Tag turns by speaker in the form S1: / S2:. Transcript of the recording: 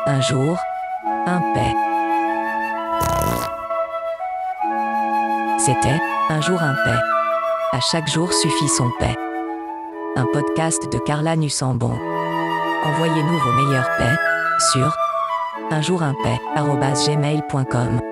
S1: Un jour, un paix. C'était Un jour un paix. À chaque jour suffit son paix. Un podcast de Carla Nussambon. Envoyez-nous vos meilleures paix sur unjourimpaix@gmail.com.